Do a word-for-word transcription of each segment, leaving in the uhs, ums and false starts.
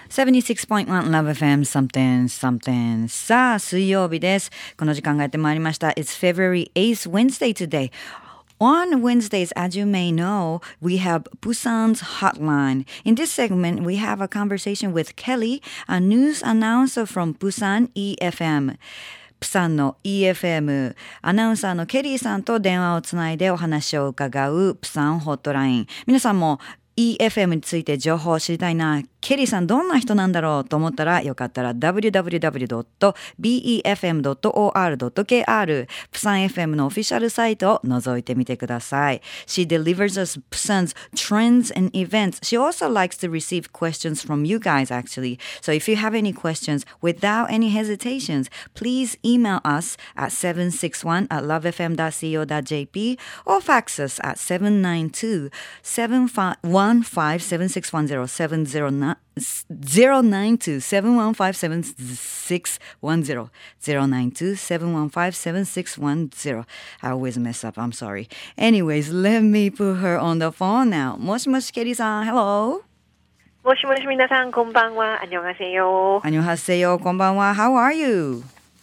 セブンティシックスポイントワン Love エフエム something something さあ水曜日です。この時間がやってまいりました。 It's February eighth Wednesday today. On Wednesdays, as you may know, we have Busan's Hotline. In this segment, we have a conversation with Kelly, a news announcer from Busan イーエフエム。プサンの イーエフエム アナウンサーのケリーさんと電話をつないでお話を伺うプサンホットライン。皆さんも イーエフエム について情報を知りたいな、ケリーさんどんな人なんだろうと思ったら、よかったら ダブリューダブリューダブリュードットビーイーエフエムドットオーアールドットケーアール プサン エフエム のオフィシャルサイトを覗いてみてください。She delivers us Busan's trends and events. She also likes to receive questions from you guys actually. So if you have any questions, without any hesitations, please email us at seven six one at love f m dot co dot j p or fax us at seven nine two, seven one five, seven six one zero, seven zero nine zero nine two, seven one five, seven six one zero, zero nine two, seven one five, seven six one zero. I always mess up. I'm sorry. Anyways, let me put her on the phone now. もしもし、ケリーさん、Hello. もしもし、皆さん、こんばんは。안녕하세요. 안녕하세요. こんばんは。How are you?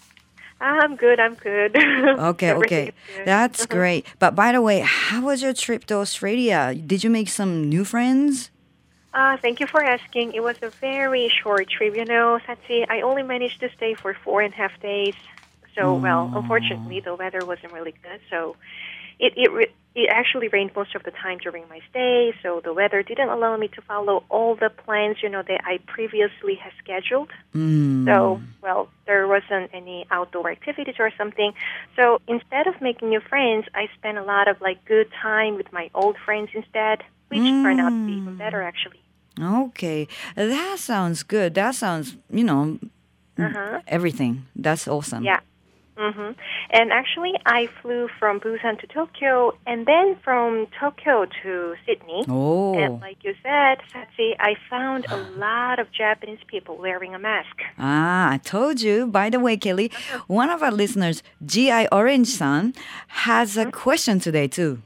I'm good. I'm good. Okay, okay. That's great. But by the way, how was your trip to Australia? Did you make some new friends? Uh, thank you for asking. It was a very short trip, you know, Satsi. I only managed to stay for four and a half days. So, oh. well, unfortunately, the weather wasn't really good. So, it it re- it actually rained most of the time during my stay. So, the weather didn't allow me to follow all the plans, you know, that I previously had scheduled. Mm. So, well, there wasn't any outdoor activities or something. So, instead of making new friends, I spent a lot of, like, good time with my old friends instead, which mm. turned out to be even better, actually. Okay, that sounds good. That sounds, you know, uh-huh. everything. That's awesome. Yeah. Mm-hmm. And actually, I flew from Busan to Tokyo and then from Tokyo to Sydney. Oh. And like you said, Satsi, I found a lot of Japanese people wearing a mask. Ah, I told you. By the way, Kelly, one of our listeners, G I Orange-san, has a mm-hmm. question today too.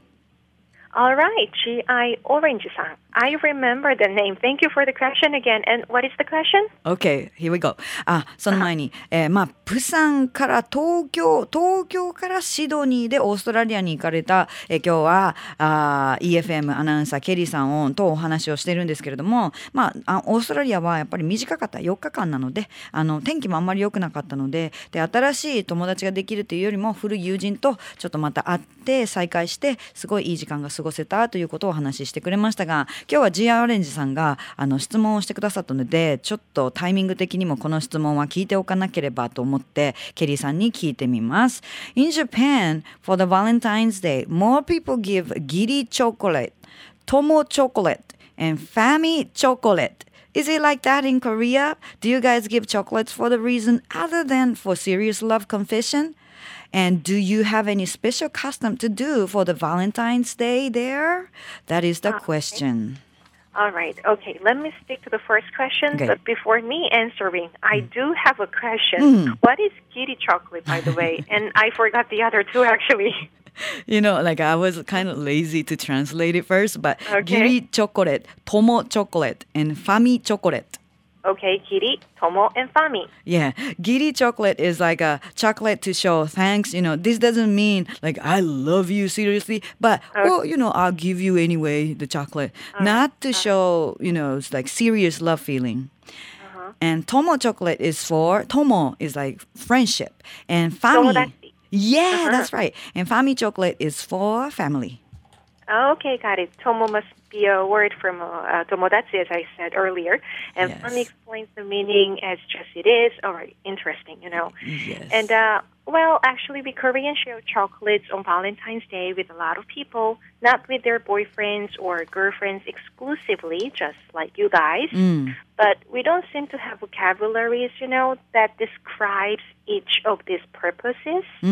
All right, G I Orange-san. I remember the name. Thank you for the question again. And what is the question? Okay, here we go. あ、その前に、えー、まあ、プサンから東京、東京からシドニーでオーストラリアに行かれた、えー、今日はあ イーエフエム アナウンサーケリーさんをとお話をしてるんですけれども、まあ、あオーストラリアはやっぱり短かったよっかかんなので、あの天気もあんまり良くなかったので、で新しい友達ができるというよりも古い友人とちょっとまた会って再会してすごいいい時間が過ごせたということをお話ししてくれましたが、今日は ジーアイ オレンジさんがあの質問をしてくださったので、ちょっとタイミング的にもこの質問は聞いておかなければと思ってケリーさんに聞いてみます。 In Japan, for the Valentine's Day, more people give Giri chocolate, Tomo chocolate, and Fami chocolate. Is it like that in Korea? Do you guys give chocolates for the reason other than for serious love confession?And do you have any special custom to do for the Valentine's Day there? That is the question. Okay. All right. Okay. Let me stick to the first question. Okay. But before me answering, I do have a question. Mm. What is Giri chocolate, by the way? And I forgot the other two, actually. You know, like I was kind of lazy to translate it first, but okay. Giri chocolate, Tomo chocolate, and Fami chocolate.Okay, Giri, Tomo, and Fami. Yeah, Giri chocolate is like a chocolate to show thanks. You know, this doesn't mean like I love you seriously, but okay. well, you know, I'll give you anyway the chocolate, uh-huh. not to show you know it's like serious love feeling. Uh-huh. And Tomo chocolate is for Tomo is like friendship, and Fami. Yeah, uh-huh. that's right. And Fami chocolate is for family. Okay, got it. Tomo must be a word from uh, tomodachi, as I said earlier. And yes. Fami explains the meaning as just it is. All right, interesting, you know. Yes. And, uh, well, actually, we Koreans share chocolates on Valentine's Day with a lot of people, not with their boyfriends or girlfriends exclusively, just like you guys. Mm. But we don't seem to have vocabularies, you know, that describes each of these purposes. うん、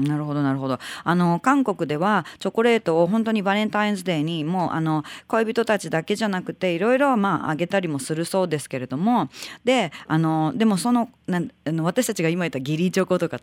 なるほどなるほど。あの韓国ではチョコレートを本当にバレンタインズデーにもうあの恋人たちだけじゃなくていろいろまああげたりもするそうですけれども、であのでもそのなんあの私たちが今言った義理チョコとか友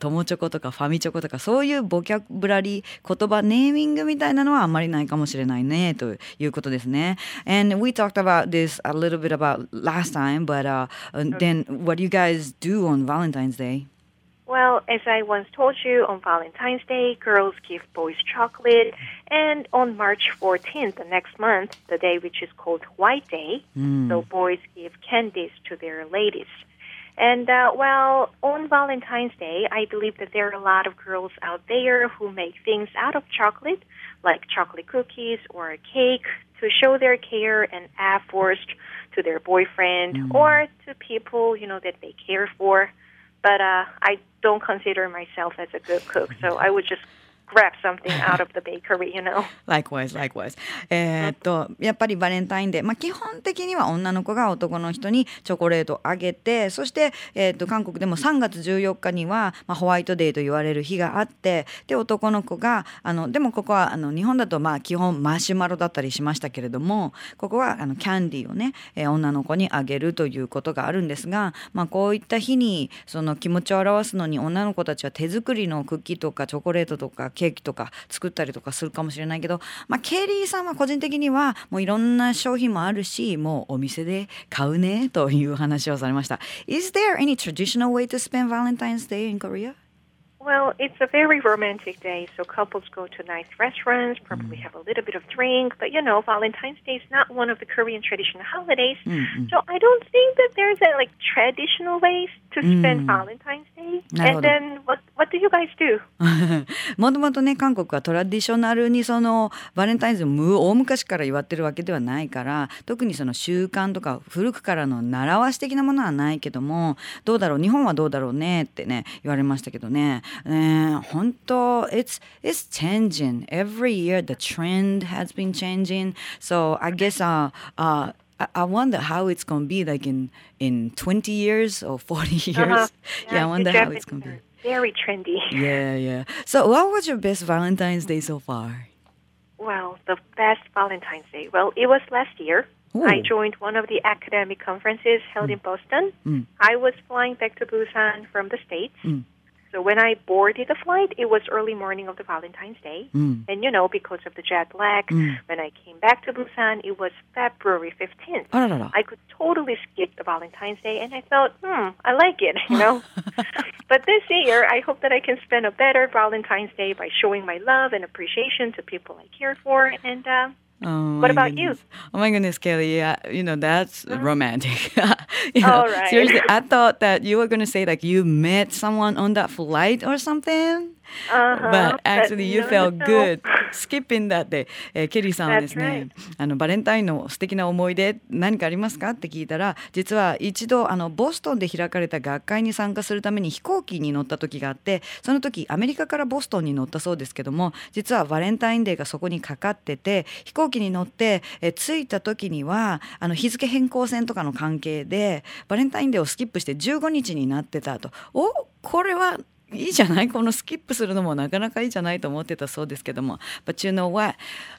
友チョコとかファミチョコとかそういうボキャブラリー言葉ネーミングみたいなのはあんまりないかもしれないねということですね。And we talked about this a little bit about last time, but uh, then what do you guys do on Valentine's Day? Well, as I once told you, on Valentine's Day, girls give boys chocolate. And on March fourteenth, the next month, the day which is called White Day, mm. so boys give candies to their ladies. And, uh, well, on Valentine's Day, I believe that there are a lot of girls out there who make things out of chocolate, like chocolate cookies or a cake, to show their care and efforts to their boyfriend mm. or to people, you know, that they care for.But uh, I don't consider myself as a good cook, so I would just grab something out of the bakery, you know. Likewise, likewise. えーっとやっぱりバレンタインデー、まあ、基本的には女の子が男の人にチョコレートをあげて、そして、えーっと韓国でもさんがつじゅうよっかには、まあ、ホワイトデーと言われる日があって、で男の子があのでもここはあの日本だとまあ基本マシュマロだったりしましたけれども、ここはあのキャンディーをね、えー、女の子にあげるということがあるんですが、まあ、こういった日にその気持ちを表すのに女の子たちは手作りのクッキーとかチョコレートとかケーキとか作ったりとかするかもしれないけど、まあ、ケリーさんは個人的にはもういろんな商品もあるし、もうお店で買うねという話をされました。 Is there any traditional way to spend Valentine's Day in Korea? Well, it's a very romantic day, so couples go to nice restaurants, probably mm. have a little bit of drink, but you know, Valentine's Day is not one of the Korean traditional holidays, mm-hmm. so I don't think that there's a like traditional ways to spend mm. Valentine's Day. And then what what do you guys do? もともとね、韓国はトラディショナルにそのバレンタインデーを大昔から祝ってるわけではないから、特にその習慣とか古くからの習わし的なものはないけども、どうだろう、日本はどうだろうねってね言われましたけどね。ね、本当 it's it's changing every year. The trend has been changing. So I guess uh uh I, I wonder how it's gonna be like in in twenty years or forty years. Uh-huh. Yeah, yeah, I wonder how it's gonna be. Very trendy. Yeah, yeah. So what was your best Valentine's Day so far? Well, the best Valentine's Day. Well, it was last year. Ooh. I joined one of the academic conferences held mm. in Boston. Mm. I was flying back to Busan from the States. Mm. So when I boarded the flight, it was early morning of the Valentine's Day. Mm. And, you know, because of the jet lag, mm. when I came back to Busan, it was February fifteenth. Oh, no, no. I could totally skip the Valentine's Day, and I thought, hmm, I like it, you know. But this year, I hope that I can spend a better Valentine's Day by showing my love and appreciation to people I care for. And uh, oh, what about goodness. you? Oh, my goodness, Kelly. Yeah, you know, that's mm-hmm. romantic. You know, All right. Seriously, I thought that you were going to say like you met someone on that flight or something. Uh-huh. But actually you no, felt no. good skipping that day. えー、ケリーさんはですね、 That's right. あのバレンタインの素敵な思い出何かありますかって聞いたら、実は一度あのボストンで開かれた学会に参加するために飛行機に乗った時があって、その時アメリカからボストンに乗ったそうですけども、実はバレンタインデーがそこにかかってて、飛行機に乗って、えー、着いた時にはあの日付変更線とかの関係でバレンタインデーをスキップしてじゅうごにちになってたと。お、これはいいじゃない、このスキップするのもなかなかいいじゃないと思ってたそうですけども。But you know what?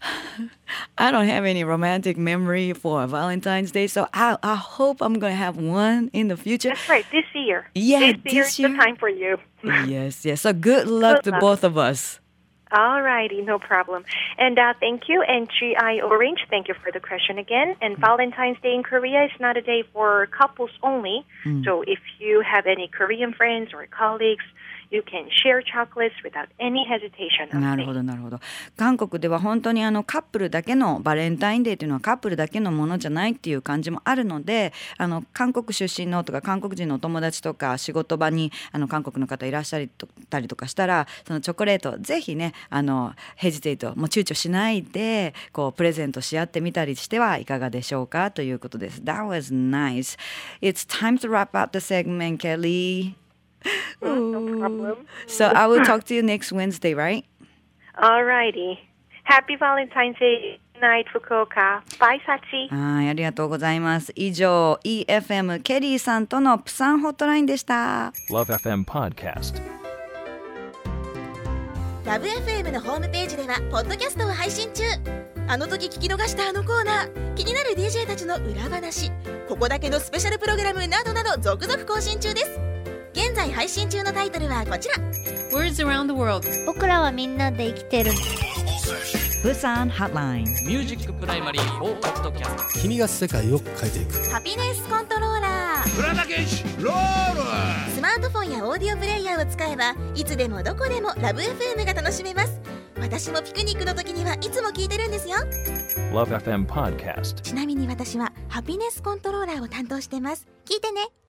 I don't have any romantic memory for Valentine's Day, so I, I hope I'm going to have one in the future. That's right, this year. Yeah, this year is the time for you. Yes, yes. So good luck good to luck. both of us. All righty, no problem. And uh, thank you. And G I Orange, thank you for the question again. And mm. Valentine's Day in Korea is not a day for couples only. Mm. So if you have any Korean friends or colleagues, you can share chocolates without any hesitation. なるほどなるほど。韓国では本当にあのカップルだけのバレンタインデーというのはカップルだけのものじゃないっていう感じもあるので、あの韓国出身のとか韓国人のお友達とか仕事場にあの韓国の方いらっしゃったりとかしたら、そのチョコレートぜひね、あのヘジテイトもう躊躇しないでこうプレゼントし合ってみたりしてはいかがでしょうかということです。That was nice. It's time to wrap up the segment, Kelly. No problem. So I will talk to you next Wednesday, right? All righty. Happy Valentine's Day night, Fukuoka. Bye, Sachi. はい、ありがとうございます。以上、イーエフエム ケリーさんとのプサンホットラインでした。 Love エフエム Podcast。 ラブ エフエム のホームページではポッドキャストを配信中。あの時聞き逃したあのコーナー、気になる ディージェー たちの裏話、ここだけのスペシャルプログラムなどなど続々更新中です。現在配信中のタイトルはこちら。 Words around the world. 僕らはみんなで生きてる。 Busan Hotline。 ミュージックプライマリーフォーカットキャスト。 君が世界を変えていく。 ハピネスコントローラー。 プラダケシロール。 スマートフォンやオーディオプレイヤーを使えばいつでもどこでもラブ エフエム が楽しめます。私もピクニックの時にはいつも聞いてるんですよ。 Love エフエム Podcast。 ちなみに私はハピネスコントローラーを担当してます。聞いてね。